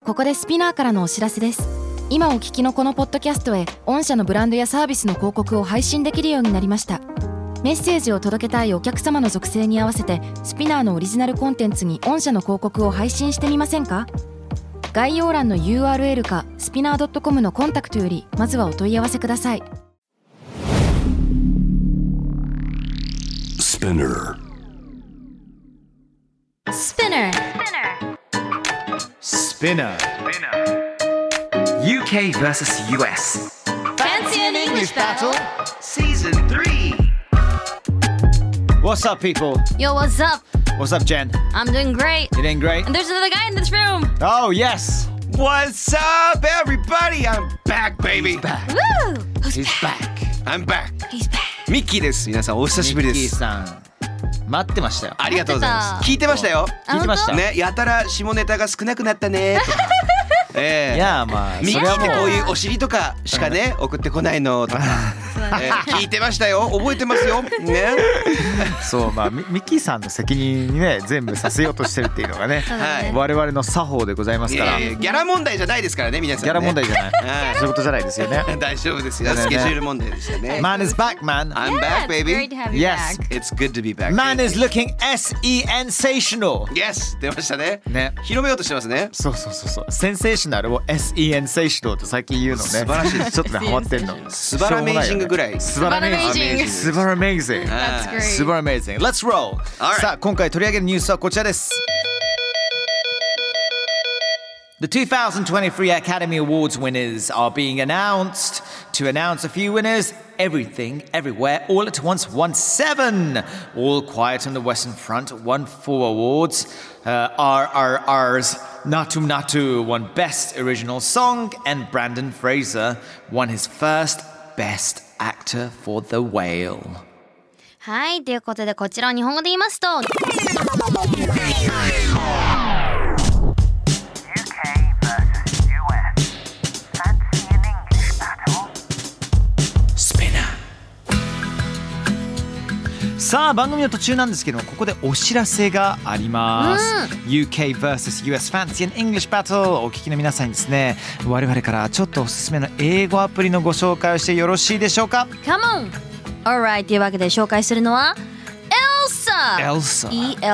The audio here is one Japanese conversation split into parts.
ここでスピナーからのお知らせです。今お聞きのこのポッドキャストへ御社のブランドやサービスの広告を配信できるようになりました。メッセージを届けたいお客様の属性に合わせてスピナーのオリジナルコンテンツに御社の広告を配信してみませんか？概要欄の URL かスピナー .com のコンタクトよりまずはお問い合わせください。 Spinner UK vs US Fancy an English battle Season 3. What's up, people? Yo, what's up? What's up, Jen? I'm doing great. You doing great? And there's another guy in this room. Oh, yes. What's up, everybody? I'm back, baby. Woo! He's back. I'm back. He's back. ミッキーです。皆さんお久しぶりでミッキーす。 さん待ってましたよ。 ありがとうございます。 待ってた聞いてましたよ。 聞いてました。 ね、やたら下ネタが少なくなったねとか。 いやまあミッキーってそれはもうこういうお尻とかしかね送ってこないのとか、聞いてましたよ。覚えてますよ。ね。 そうまあミッキーさんの責任にね全部させようとしてるっていうのがねはい我々の作法でございますから。 ギャラ問題じゃないですからね、皆さん、ね。 ギャラ問題じゃない。 はいそういうことじゃないですよね。 大丈夫ですよ。 だよねスケジュール問題でしたね。 Man is back, man. I'm Yeah, back, it's great baby. to have you Yes. back. It's good to be back. Man is looking sensational. Yes, 出ましたね。 ね。 広めようとしてますね。 そう。センセーショナルを sensational と最近言うのね。 素晴らしいですちょっとねハマってんの。 素晴らメイジングぐらい。 素晴らメイジング。素晴らメイジング。 That's great. 素晴らメイジング。Let's roll. Alright. さあ今回取り上げるニュースはこちらです。The 2023 Academy Awards winners are being announced. To announce a few winners, Everything, Everywhere, All at Once won 7. All Quiet on the Western Front won 4 awards. RRR's Natu Natu won Best Original Song, and Brandon Fraser won his first Best Actor for The Whale. はい、ということでこちらを日本語で言いますとさあ番組の途中なんですけどここでお知らせがあります、UK vs US Fancy and English Battle お聞きの皆さんにですね我々からちょっとおすすめの英語アプリのご紹介をしてよろしいでしょうか。 Come on! Alright というわけで紹介するのはELSA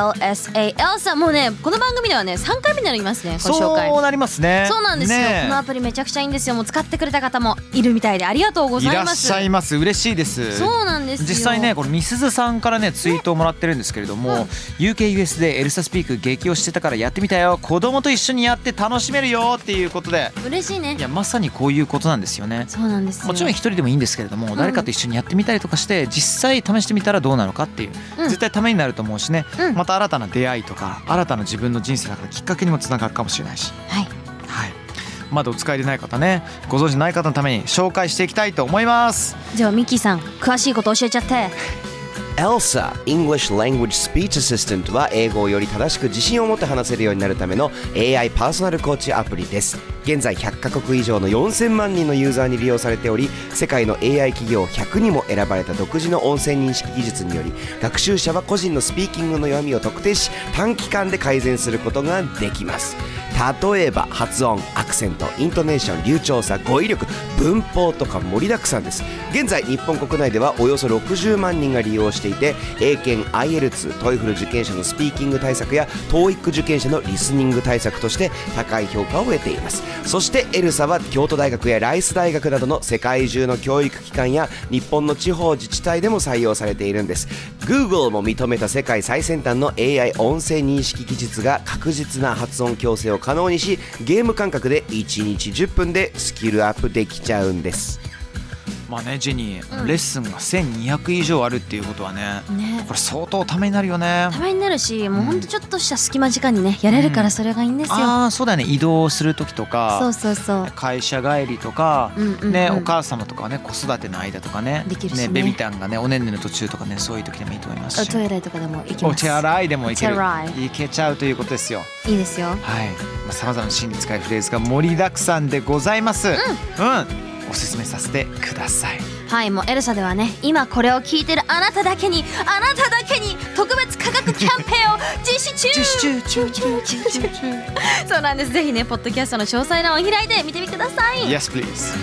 ELSA もうねこの番組ではね3回目になりますねご紹介。 そうなりますね。 そうなんですよ、 ね、 このアプリめちゃくちゃいいんですよ。もう使ってくれた方もいるみたいでありがとうございます。 いらっしゃいます。嬉しいです。 そうなんですよ。 実際ねこれみすずさんからねツイートをもらってるんですけれども、UKUS でエルサスピーク激推してたからやってみたよ、子供と一緒にやって楽しめるよっていうことで、 嬉しいね。 いやまさにこういうことなんですよね。 そうなんですよ。 もちろん一人でもいいんですけれども、誰かと一緒にやってみたりとかして実際試してみたらどうなのかっていう、絶対ためになると思うしね、また新たな出会いとか新たな自分の人生の中できっかけにもつながるかもしれないし、 はいまだお使いでない方ね、ご存知ない方のために紹介していきたいと思います。 じゃあミッキーさん詳しいこと教えちゃって。 ELSA English Language Speech Assistant は英語をより正しく自信を持って話せるようになるための AI パーソナルコーチアプリです。現在100カ国以上の4000万人のユーザーに利用されており、世界の AI 企業100にも選ばれた独自の音声認識技術により、学習者は個人のスピーキングの弱みを特定し短期間で改善することができます。例えば発音、アクセント、イントネーション、流暢さ、語彙力、文法とか盛りだくさんです。現在日本国内ではおよそ60万人が利用していて、英検、IELTS、TOEFL 受験者のスピーキング対策や TOEIC 受験者のリスニング対策として高い評価を得ています。そしてエルサは京都大学やライス大学などの世界中の教育機関や日本の地方自治体でも採用されているんです。 Google も認めた世界最先端の AI 音声認識技術が確実な発音矯正を可能にし、ゲーム感覚で1日10分でスキルアップできちゃうんです。 まあねジェニー、レッスンが1200以上あるっていうことはね、これ相当ためになるよね。 ためになるし、もうほんとちょっとした隙間時間にねやれるからそれがいいんですよ。 ああそうだよね、移動する時とか、 そう会社帰りとか、ね、お母様とかね子育ての間とかね、 できるしねベビタンがねおねんねの途中とかね、そういう時でもいいと思いますし、 お手洗いとかでも行きます。 お手洗いでもいける、 手洗いけちゃうということですよ。 いいですよ。 はい、さまざまな心理使いフレーズが盛りだくさんでございます。おすすめさせてください。 はい、もうエルサではね、今これを聞いてるあなただけに特別価格キャンペーンを実施中。そうなんです。ぜひね、ポッドキャストの詳細欄を開いて見てみてください。 Yes, please.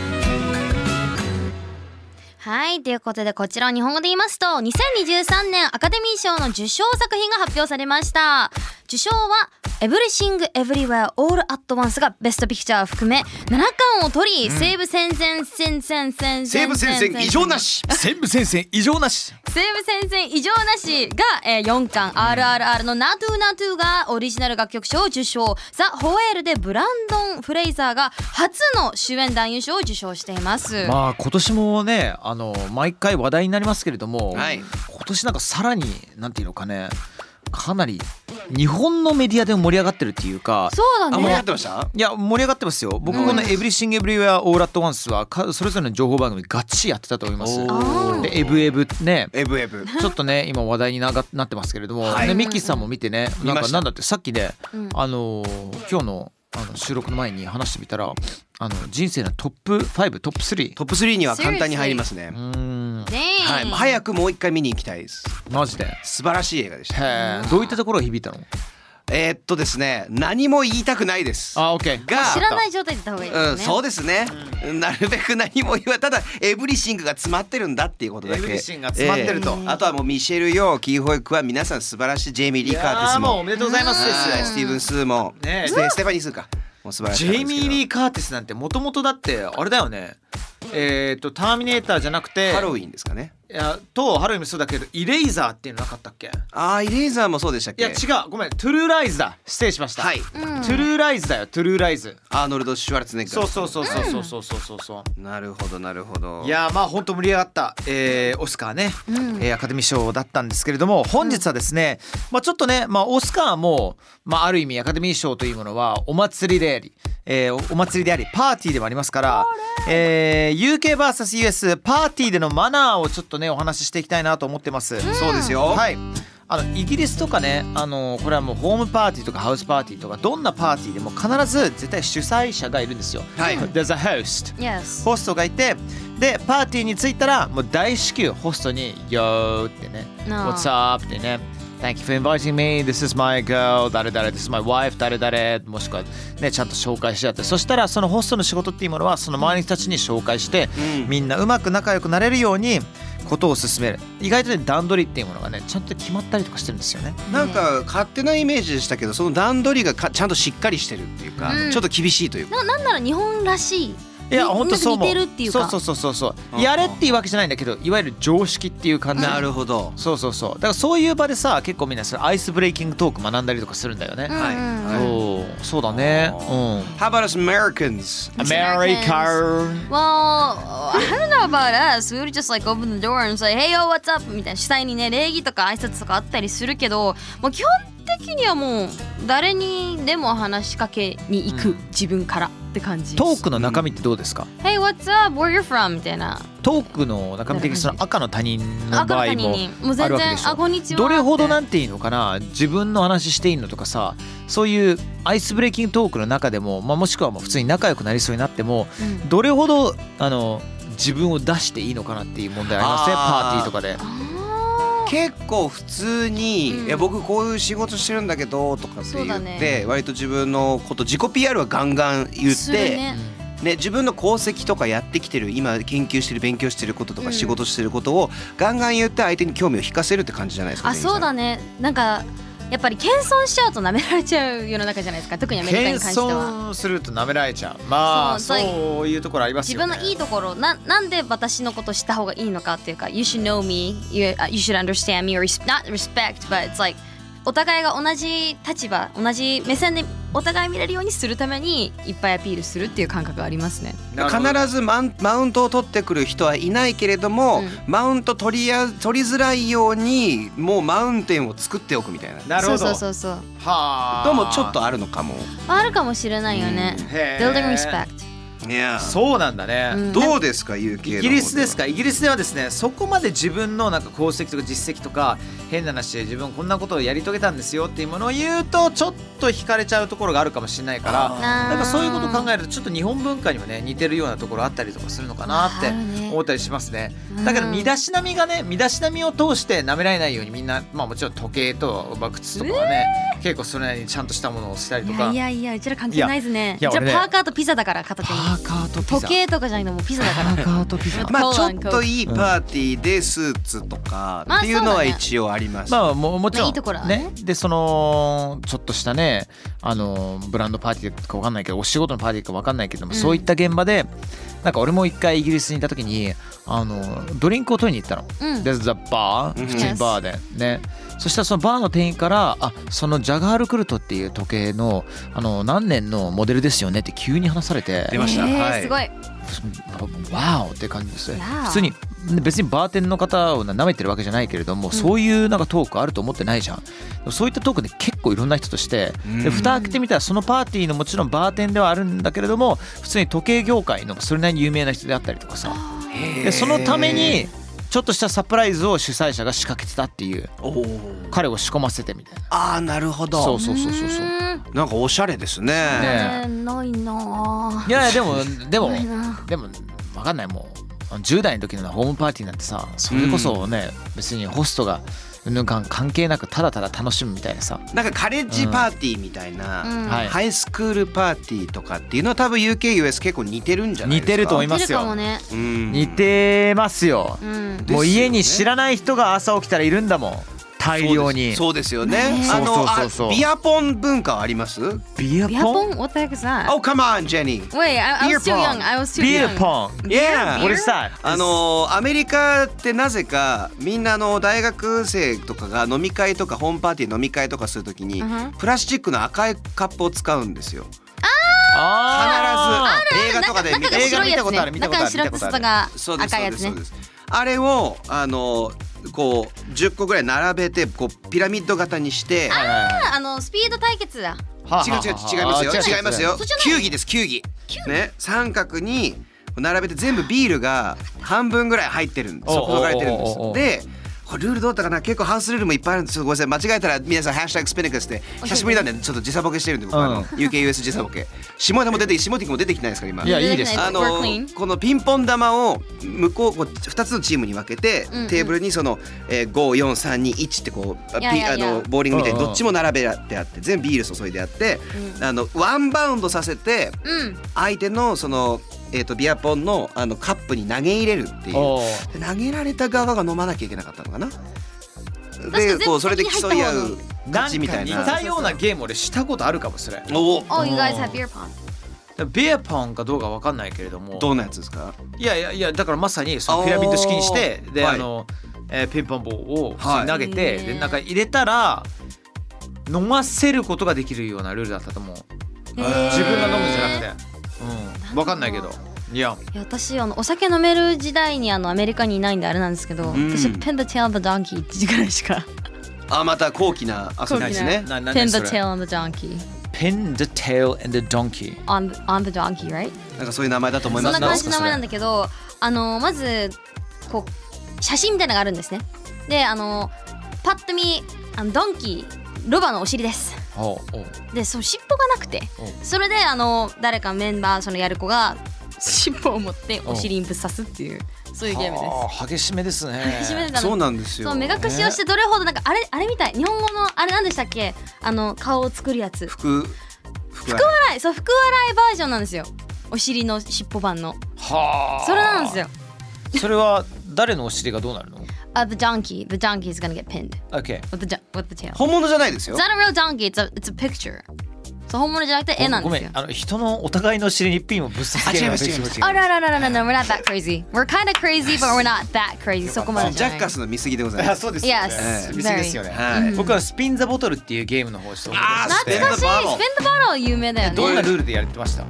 はい、ということでこちらを日本語で言いますと、2023年アカデミー賞の受賞作品が発表されました。受賞は Everything Everywhere All at Once がベストピクチャーを含め7冠を取り、西武戦線異常なしが、4冠、RRR のナトゥナトゥがオリジナル楽曲賞を受賞、ザ・ホエールでブランドン・フレイザーが初の主演男優賞を受賞しています。 まあ今年もね、毎回話題になりますけれども、 はい、 今年なんかさらになんていうのかね、かなり日本のメディアでも盛り上がってるっていうか。 そうだね。 盛り上がってました？ いや、盛り上がってますよ。僕この Everything Everywhere All at Once はそれぞれの情報番組ガッチリやってたと思います。でエブエブね、 エブエブちょっとね今話題になってますけれども、 はい、 ね、ミッキーさんも見てね、なんだってさっきね、今日の収録の前に話してみたら、人生のトップ5、トップ3には簡単に入りますね。はい、早くもう一回見に行きたいです。マジで素晴らしい映画でした。 へー、どういったところが響いたの？ ですね、何も言いたくないです。 オッケー。 が知らない状態で言った方がいいですね。 そうですね。なるべく何も言わただエブリシングが詰まってるんだっていうことだけ。 エブリシングが詰まってると。 あとはもうミシェル・ヨー、キー・ホイクは皆さん素晴らしい。ジェイミー・リー・カーティスもおめでとうございます。 スティーブン・スーも、 ね、 ステファニー・スーか。もう素晴らしい。 ジェイミー・リー・カーティスなんてもともとだってあれだよね。ターミネーターじゃなくてハロウィンですかね。 いやとハロウィンもそうだけど、イレイザーっていうのなかったっけ？ イレイザーもそうでしたっけ？ いや違う、ごめん、トゥルーライズだ、失礼しました。 はい、 トゥルーライズだよ、トゥルーライズ。 アーノルド・シュワルツェネッガー。 そう、 なるほどなるほど。 いやまあ本当盛り上がった、オスカーね、アカデミー賞だったんですけれども、本日はですね、ちょっとね、オスカーも、ある意味アカデミー賞というものはお祭りであり、パーティーでもありますから、UKVS.US パーティーでのマナーをちょっとねお話ししていきたいなと思ってます。 そうですよ。 はい。イギリスとかね、これはもうホームパーティーとかハウスパーティーとかどんなパーティーでも必ず絶対主催者がいるんですよ。 はい。 There's a host。 Yes。 ホストがいて、でパーティーに着いたらもう大至急ホストに Yo ってね、What's up ってね。Thank you for inviting me. This is my girl. 誰々 This is my wife. 誰々もしくはねちゃんと紹介してやって、そしたらそのホストの仕事っていうものはその周りの人たちに紹介して、みんなうまく仲良くなれるようにことを進める。意外とね段取りっていうものがねちゃんと決まったりとかしてるんですよね。 なんか勝手なイメージでしたけど、その段取りがちゃんとしっかりしてるっていうか、ちょっと厳しいというか。 なんなら日本らしい。 いや本当そう思う。 似てるっていうか。 そうやれっていうわけじゃないんだけど、いわゆる常識っていう感じ。 なるほど。 そうだからそういう場でさ、結構みんなそれアイスブレイキングトーク学んだりとかするんだよね。そうだね。 How about us Americans? American. Well, I don't know about us. We would just like open the door and say, Hey yo, what's up? みたいな主催にね礼儀とか挨拶とかあったりするけど、もう基本的にはもう誰にでも話しかけに行く、自分からって感じ。 トークの中身ってどうですか？ Hey, what's up? Where you from? みたいな。 トークの中身的にその赤の他人の場合もあるわけでしょ。 こんにちは。 どれほどなんていいのかな、自分の話していいのとかさ、そういうアイスブレイキングトークの中でも、もしくはもう普通に仲良くなりそうになっても、どれほど自分を出していいのかなっていう問題ありますね、パーティーとかで。 結構普通に、いや僕こういう仕事してるんだけどとかって言って、割と自分のこと自己 PR はガンガン言って、自分の功績とかやってきてる、今研究してる勉強してることとか仕事してることをガンガン言って相手に興味を引かせるって感じじゃないですか。 そうだね。なんかやっぱり謙遜しちゃうと舐められちゃう世の中じゃないですか。特にアメリカに関しては謙遜すると舐められちゃう。そういうところありますよね。 自分のいいところ、なんで私のこと知った方がいいのかっていうか、 You should know me, you should understand me, or not respect, but it's like お互いが同じ立場、同じ目線でお互い見れるようにするためにいっぱいアピールするっていう感覚がありますね。 必ずマウントを取ってくる人はいないけれども、マウント取りづらいようにもうマウンテンを作っておくみたいな。 なるほど。 そうはあ。 どうもちょっとあるのかも。 あるかもしれないよね。Building respect。 いやそうなんだね、 どうですか UK の方では。 イギリスですか。イギリスではですね、そこまで自分のなんか功績とか実績とか変な話で自分こんなことをやり遂げたんですよっていうものを言うとちょっと惹かれちゃうところがあるかもしれないから、なんかそういうことを考えるとちょっと日本文化にもね似てるようなところあったりとかするのかなって思ったりしますね。だけど身だしなみがね、身だしなみを通して舐められないようにみんな、まあもちろん時計と靴とかはね、結構それなりにちゃんとしたものをしたりとか。 いやうちら関係ないですね。 いやうちらパーカーとピザだから片手に。 パーカーとピザ。 時計とかじゃないのもうピザだから。 パーカーとピザ。 まあちょっといいパーティーでスーツとかっていうのは一応あります。 まあもちろんいいところはね。 でそのちょっとしたねブランドパーティーか分かんないけどお仕事のパーティーか分かんないけども、そういった現場でなんか俺も一回イギリスにいた時にドリンクを取りに行ったの。でザバー普通にバーでね。そしたらそのバーの店員からそのジャガールクルトっていう時計の何年のモデルですよねって急に話されて出ました。はい。 すごい。 ワオって感じですね。 Wow. 普通に別にバーテンの方を舐めてるわけじゃないけれども、そういうなんかトークあると思ってないじゃん。そういったトークで結構いろんな人としてで蓋開けてみたらそのパーティーのもちろんバーテンではあるんだけれども普通に時計業界のそれなりに有名な人であったりとかさ、でそのためにちょっとしたサプライズを主催者が仕掛けてたっていう、彼を仕込ませてみたいな。 ああなるほど。 そうなんかおしゃれですね。 ないな。 いやでも分かんない。もう10代の時のホームパーティーなんてさ、それこそね、別にホストが関係なくただただ楽しむみたいなさ、 なんかカレッジパーティーみたいな、ハイスクールパーティーとかっていうのは多分 UK、US 結構似てるんじゃないですか。 似てると思いますよ。似てますよ。もう家に知らない人が朝起きたらいるんだもん、大量に。 そうですよね。ビアポン文化はあります？ ビアポン？ What the heck is that? Oh come on Jenny. Wait, I was too young. I was too young. ビアポン。 Yeah. What is that? アメリカってなぜかみんな大学生とかが飲み会とかホームパーティー飲み会とかするときにプラスチックの赤いカップを使うんですよ。必ず映画とかで見たことある。 中に白く外が赤いやつね。 あれをこう10個ぐらい並べてこうピラミッド型にして、 スピード対決だ。 違いますよ。球技です。球技ね、三角に並べて全部ビールが半分ぐらい入ってるんです。注がれてるんです。でこれルールどうだったかな。結構ハウスルールもいっぱいあるんです。ごめんなさい、間違えたら皆さんハッシュタグスピニカスで久しぶりなんでちょっと時差ボケしてるんで僕UK/US 時差ボケ。下手も出て下手も出てきてないですから今。 いやいいです。 このピンポン玉を向こう2つのチームに分けてテーブルにその54321ってこうボーリングみたいにどっちも並べてあって全部ビール注いであってワンバウンドさせて相手のそのビアポンのカップに投げ入れるっていう。で投げられた側が飲まなきゃいけなかったのかな。でこうそれで競い合う勝ちみたいな。 似たようなゲーム俺したことあるかもしれない。 Oh, you guys have beer pong. ビアポンかどうかわかんないけれども。 どんなやつですか？ いやだからまさにそのピラミッド式にしてでピンポン棒を投げてでなんか入れたら飲ませることができるようなルールだったと思う。自分が飲むんじゃなくて。わかんないけど。いや私お酒飲める時代にアメリカにいないんであれなんですけど、私Pin the tail on the donkey ってぐらいしか。 また高貴な遊びですね。 Pin the tail on the donkey. Pin the tail and the donkey. On the donkey, right? なんかそういう名前だと思います。 そんな感じの名前なんだけど、まずこう写真みたいなのがあるんですね。でパッと見ドンキーロバのお尻です。でその尻尾がなくて、それで誰かメンバーそのやる子が尻尾を持ってお尻にぶっ刺すっていうそういうゲームです。 激しめですね。 激しめでそうなんですよ。 そう目隠しをしてどれほどなんかあれみたい。日本語のあれなんでしたっけ？顔を作るやつ。福笑い。そう福笑いバージョンなんですよ。お尻の尻尾版の。それなんですよ。 それは誰のお尻がどうなるの ？The donkey. The donkey is gonna get pinned. Okay. With the tail. 本物じゃないですよ。 It's not a real donkey. It's a picture. そう本物じゃなくて絵なんですよ。 ごめん、人のお互いの尻にピンをぶっ刺す。 違います。 No, we're not that crazy. We're kind of crazy, but we're not that crazy. そこまでじゃない。 ジャッカスの見過ぎでございます。 そうです。 Yes. 見過ぎですよね。僕はスピンザボトルっていうゲームの方をして懐かしい。スピンザボトル有名だよね。 どんなルールでやってました？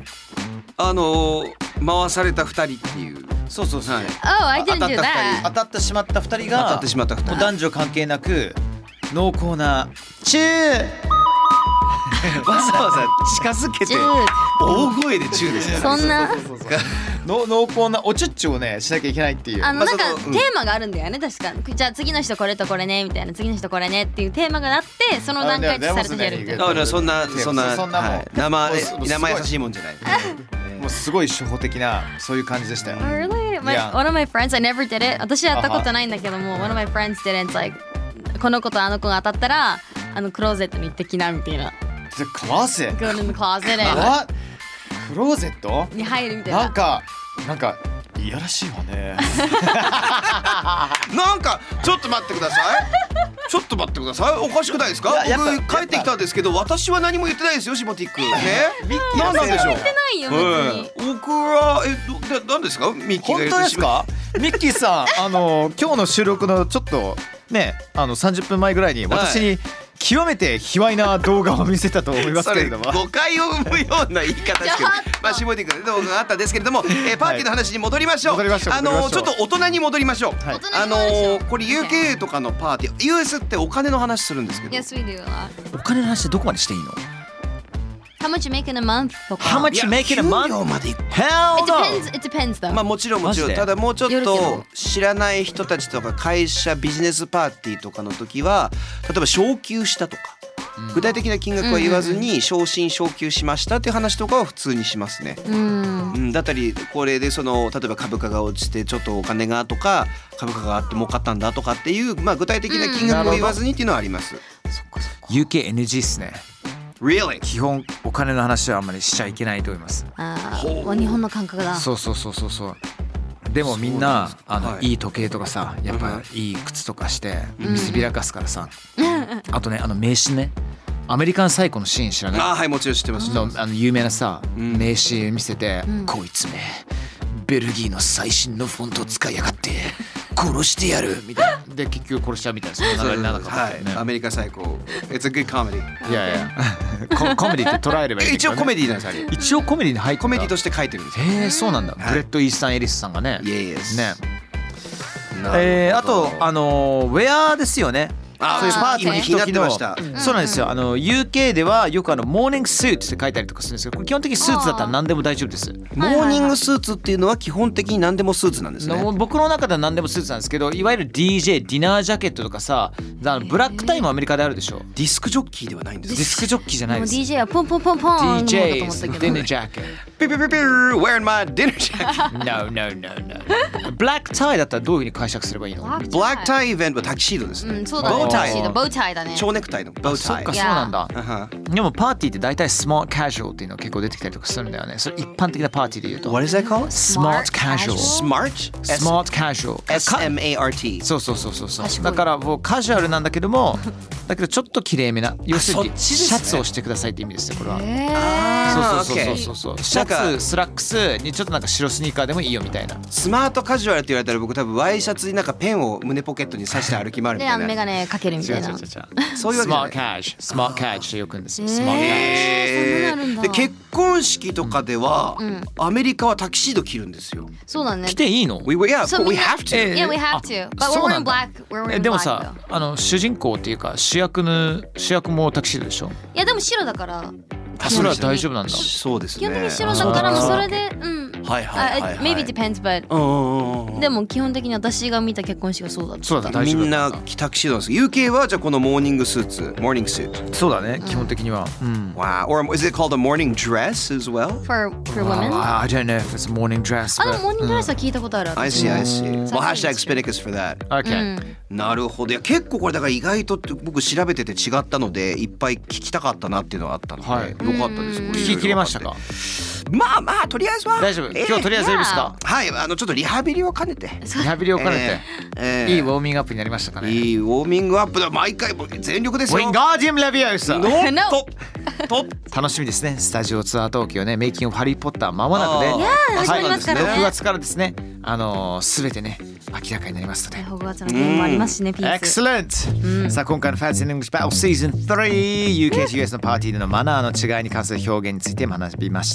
回された2人っていう。 そう。 Oh, I didn't do that. 当たってしまった2人が男女関係なく濃厚なチューわざわざ近づけて大声でチューですからそんな濃厚なおちゅっちゅをねしなきゃいけないっていう。 なんかそのテーマがあるんだよね確か。じゃあ次の人これとこれねみたいな、次の人これねっていうテーマがあってその段階でされてやるみたいな。 そんなもう生優しいもんじゃない。 もうすごい初歩的なそういう感じでしたよ。 Really? Yeah. One of my friends, I never did it. 私やったことないんだけども、one of my friends did it. It's like この子とあの子が当たったらクローゼットに行ってきなみたいな。 The closet? Go in the closet What? クローゼットに入るみたいな。 なんかいやらしいわね。 なんかちょっと待ってください。ちょっと待ってください。おかしくないですか？僕帰ってきたんですけど、私は何も言ってないですよ、シモティック。ね？何なんでしょう。 言ってないよ別に。 僕は何ですか？ミッキーが本当ですか？ミッキーさん、今日の収録のちょっとね、30分前ぐらいに私に極めて卑猥な動画を見せたと思いますけれども、 誤解を生むような言い方ですけど、まあシモティックの動画があったんですけれども、パーティーの話に戻りましょう。ちょっと大人に戻りましょう。これ UK とかのパーティー、US ってお金の話するんですけど、 Yes, we do a lot. お金の話ってどこまでしていいの？ How much you make in a month とか。 How much you make in a month? 給料までいく。 Hell no! It depends though. まあもちろんマジでただもうちょっよるけどと知らない人たちとか会社ビジネスパーティーとかの時は、例えば昇給したとか、具体的な金額は言わずに昇進昇給しましたっていう話とかは普通にしますね。だったりこれで例えば株価が落ちてちょっとお金がとか、株価があって儲かったんだとかっていう、まあ具体的な金額を言わずにっていうのはあります。 UK NG っすね。 Really? 基本お金の話はあんまりしちゃいけないと思います。 日本の感覚だ。 そう。でもみんないい時計とかさ、やっぱいい靴とかして見せびらかすからさ。あとね名刺ね、アメリカンサイコのシーン知らない？ はい、もちろん知ってます。 有名なさ名刺見せて、こいつめベルギーの最新のフォントを使いやがって殺してやるみたいなで結局殺しちゃうみたいな、そんな流れにならなかったよね。 アメリカ最高。It's a good comedy。 いやコメディって捉えればいいんだけどね。 一応コメディなんですあれ。 一応コメディに入ってた。 コメディとして書いてるんですよ。 へえ、そうなんだ。ブレッド・イースタン・エリスさんがね。 Yes。 ね。あとウェアですよね。そういうパーティーに行く時の、そうなんですよ。UK ではよくモーニングスーツって書いたりとかするんですけど、これ基本的にスーツだったら何でも大丈夫です。 モーニングスーツっていうのは基本的に何でもスーツなんですね。 僕の中では何でもスーツなんですけど、いわゆる DJ ディナージャケットとかさ、ブラックタイもアメリカであるでしょ。 ディスクジョッキーではないんですディスクジョッキーじゃないです。 DJ はポンポンポンポン DJ の方だと思ったけど。 ディナージャケット。 ピピピピー wearing my dinner jacket。 No。ブラックタイだったらどういうふうに解釈すればいいの？ ブラックタイイベントはタキシードですね。 そうだね。 ボウタイ。 ボウタイだね。 蝶ネクタイのボウタイ。 そっか、そうなんだ。でもパーティーって大体スマートカジュアルっていうのが結構出てきたりとかするんだよね。それ一般的なパーティーで言うと。 What is that called? Smart casual。 Smart? Smart casual。 SMART。 そう。だからもうカジュアルなんだけども、だけどちょっと綺麗めな、要するにシャツをしてくださいって意味ですよ、これは。そう。シャツ、スラックスにちょっとなんか白スニーカーでもいいよみたいな。 スマートカジュアルって言われたら僕多分ワイシャツになんかペンを胸ポケットに刺して歩き回るみたいな。 メガネかけるみたいな。 そういうわけじゃない。 スマートカジュってよく言うんですよ。 で結婚式とかではアメリカはタキシード着るんですよ。 そうだね。 着ていいの？ We have to. Yeah, we have to. But we're wearing black. We're wearing black. でもさ、主人公っていうか主役もタキシードでしょ？ いやでも白だから。 それは大丈夫なんだ。 そうですね。 基本的に白だからもそれでmaybe depends but でも基本的に私が見た結婚式がそうだった。 そうだ、大丈夫。 みんなタキシードなんです。UK はじゃあこのモーニングスーツ、モーニングスーツ。 そうだね、基本的には。 Wow. Or is it called a morning dress as well? For women? I don't know if it's a morning dress. でもモーニングドレスは聞いたことある。 I see. Well, hashtag Spinicus for that. Okay. なるほど。いや結構これだから意外と僕調べてて違ったのでいっぱい聞きたかったなっていうのがあったので、よかったです。 聞き切れましたか？ まあとりあえずは大丈夫。今日とりあえずいいですか？ はい、ちょっとリハビリを兼ねて。 リハビリを兼ねて、いいウォーミングアップになりましたかね？ いいウォーミングアップだ。毎回全力ですよ。 ウィンガーディウム・レビオサ。 と楽しみですね。スタジオツアー東京ね、メイキングハリーポッター間もなくで、 始まりますからね。 6月からですね、すべてね明らかになりますので。 ホグワーツのゲームもありますしね。ピース。 Excellent。さあ今回の Fancy English Battle Season 3 UK と US のパーティーでのマナーの違いに関する表現について話しました。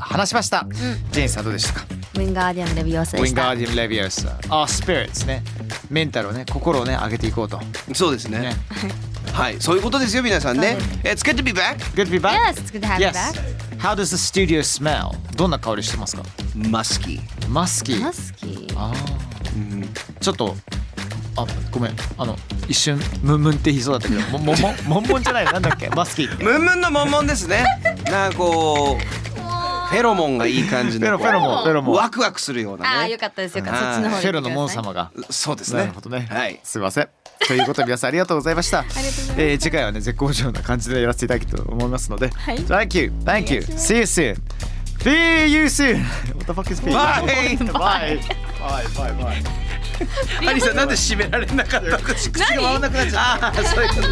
ジェーンさんどうでしたか？ ウィンガーディウム・レビオサでした。 ウィンガーディウム・レビオサ。スピリッツね。メンタルをね、心をね上げていこうと。 そうですね。 はい、そういうことですよ皆さんね。It's good to be back. Good to be back? Yes, it's good to have you Yes. back. How does the studio smell? どんな香りしてますか？ マスキー。 マスキー。 マスキー。 あちょっとごめん一瞬ムンムンって言いそうだったけどモンモンじゃないなんだっけマスキーって。 ムンムンのモンモンですね。なんかこうフェロモンがいい感じのフェロモンワクワクするようなね。 ああよかったですよかった。そっちの方で。 フェロのモン様が。 そうですね。 なるほどね。 はい。 すいません。ということで皆さんありがとうございました。次回はね絶好調な感じでやらせていただきたいと思いますので。 はい。 Thank you. See you soon. See you soon. What the fuck is Bye. Bye. Bye. ハリーさんなんで締められなかった？口が回らなくなっちゃった。そういうこと。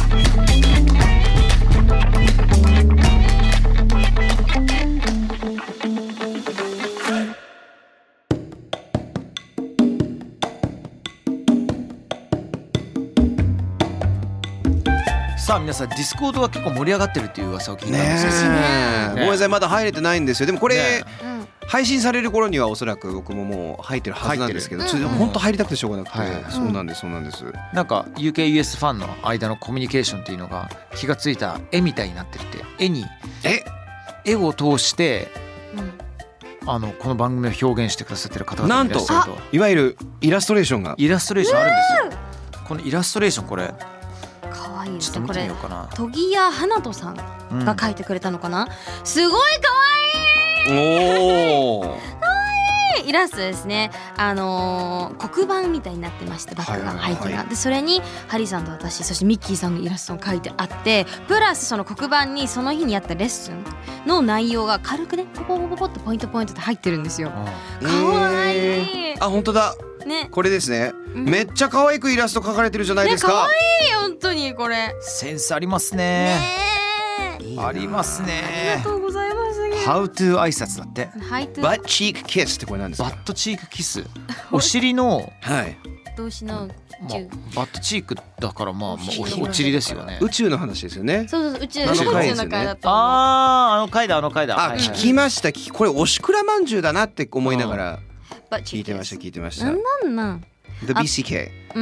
さあ皆さんディスコードが結構盛り上がってるっていう噂を聞いたんですよ。 ごめんなさいまだ入れてないんですよ。でもこれ、 ね配信される頃にはおそらく僕ももう入ってるはずなんですけど、本当入りたくてしょうがなくて、そうなんですそうなんです。 なんか UK-US ファンの間のコミュニケーションっていうのが気がついた絵みたいになってるって絵を通して、この番組を表現してくださってる方々がいらっしゃると。 いわゆるイラストレーションがあるんですよ。このイラストレーションこれかわいいですちょっと見ね。これてみようかな。 トギヤハナトさんが描いてくれたのかな。すごいかわおお。 いいイラストですね。黒板みたいになってましてバックが背景がでそれにハリーさんと私そしてミッキーさんのイラストが描いてあってプラスその黒板にその日にやったレッスンの内容が軽くねポポポポポってポイントって入ってるんですよ。かわいい。 あ本当だ。 ね、 これですね、めっちゃ可愛くイラスト描かれてるじゃないですか。 可愛い本当にこれ。 センスありますね。ありますね。 ありがとうございます。 How to 挨拶だって。 バッチークキスってこれなんですか。 バットチークキス。お尻の動詞のバットチークだからお尻ですよね。 宇宙の話ですよね。 そう宇宙の回だと。 回だ聞きました。これおしくらまんじゅうだなって思いながら聞いてました。 なん The BCK。 The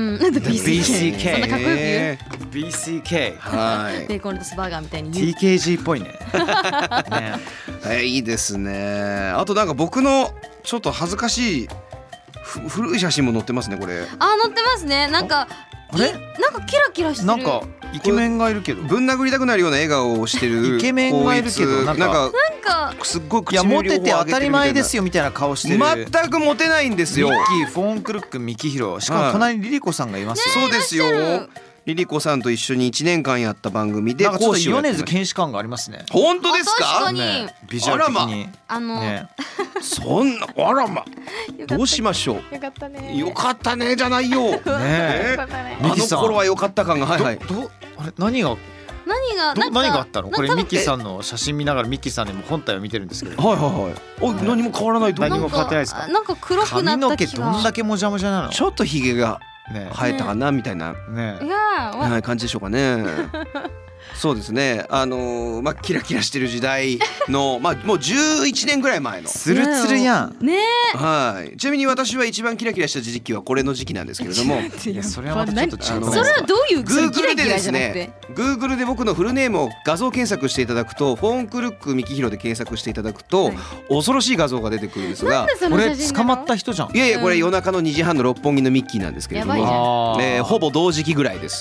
BCK。そんなかっこよく言う。 BCK。 はい。 ベーコンレタスバーガーみたいに。 TKG っぽいね。 いいですね。あとなんか僕のちょっと恥ずかしい古い写真も載ってますねこれ。 載ってますね。なんかキラキラしてる。 なんかイケメンがいるけどぶん殴りたくなるような笑顔をしてるイケメンがいるけどなんかすっごい口モテて当たり前ですよみたいな顔してる。 全くモテないんですよ。 ミッキーフォンクルックミキヒロしかも隣にリリコさんがいますよ。 そうですよ。リリコさんと一緒に1年間やった番組で講師をやってました。米津玄師感がありますね。 本当ですか。 確かにビジュアル的にそんなあらまどうしましょう。 よかったね。 よかったねじゃないよ。あの頃はよかった感が。あれ何があったの。これミッキーさんの写真見ながらミッキーさんにも本体を見てるんですけど。何も変わらない。 何も変わってないですか。 なんか黒くなった気が。 髪の毛どんだけもじゃもじゃなの。 ちょっとヒゲが生えたかなみたいな感じでしょうかね。そうですね。キラキラしてる時代のもう11年ぐらい前のツルツルやんね。 はい。ちなみに私は一番キラキラした時期はこれの時期なんですけれども。 いやそれはまたちょっと違う。 それはどういうキラキラじゃなくて Google で僕のフルネームを画像検索していただくとフォンクルックミキヒロで検索していただくと恐ろしい画像が出てくるんですが、 これ捕まった人じゃん。 いやこれ夜中の2時半の六本木のミッキーなんですけれども、ほぼ同時期ぐらいです。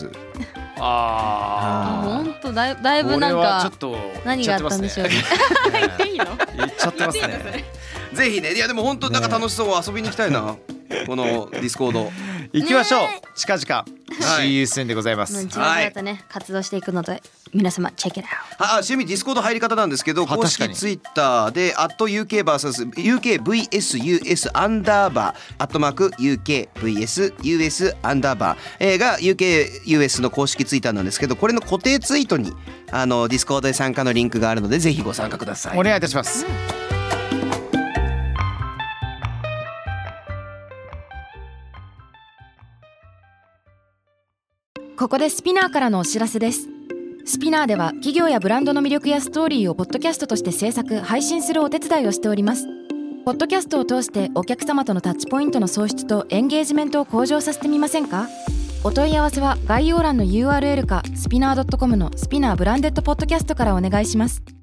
本当だいぶなんか何があったんでしょうね。言っていいの？ 言っちゃってますね。 ぜひね。いやでも本当なんか楽しそう。遊びに行きたいな。このディスコード行きましょう。近々 See you soon でございます。 自分またね活動していくので皆様チェックイットアウト。 ちなみにディスコード入り方なんですけど公式ツイッターで@UK vs.UKVSUS _UKVSUS が UKUS の公式ツイッターなんですけどこれの固定ツイートにディスコードで参加のリンクがあるのでぜひご参加ください。 お願いいたします。 ここでスピナーからのお知らせです。スピナーでは企業やブランドの魅力やストーリーをポッドキャストとして制作・配信するお手伝いをしております。ポッドキャストを通してお客様とのタッチポイントの創出とエンゲージメントを向上させてみませんか？ お問い合わせは概要欄の URL かスピナー .com のスピナーブランデッドポッドキャストからお願いします。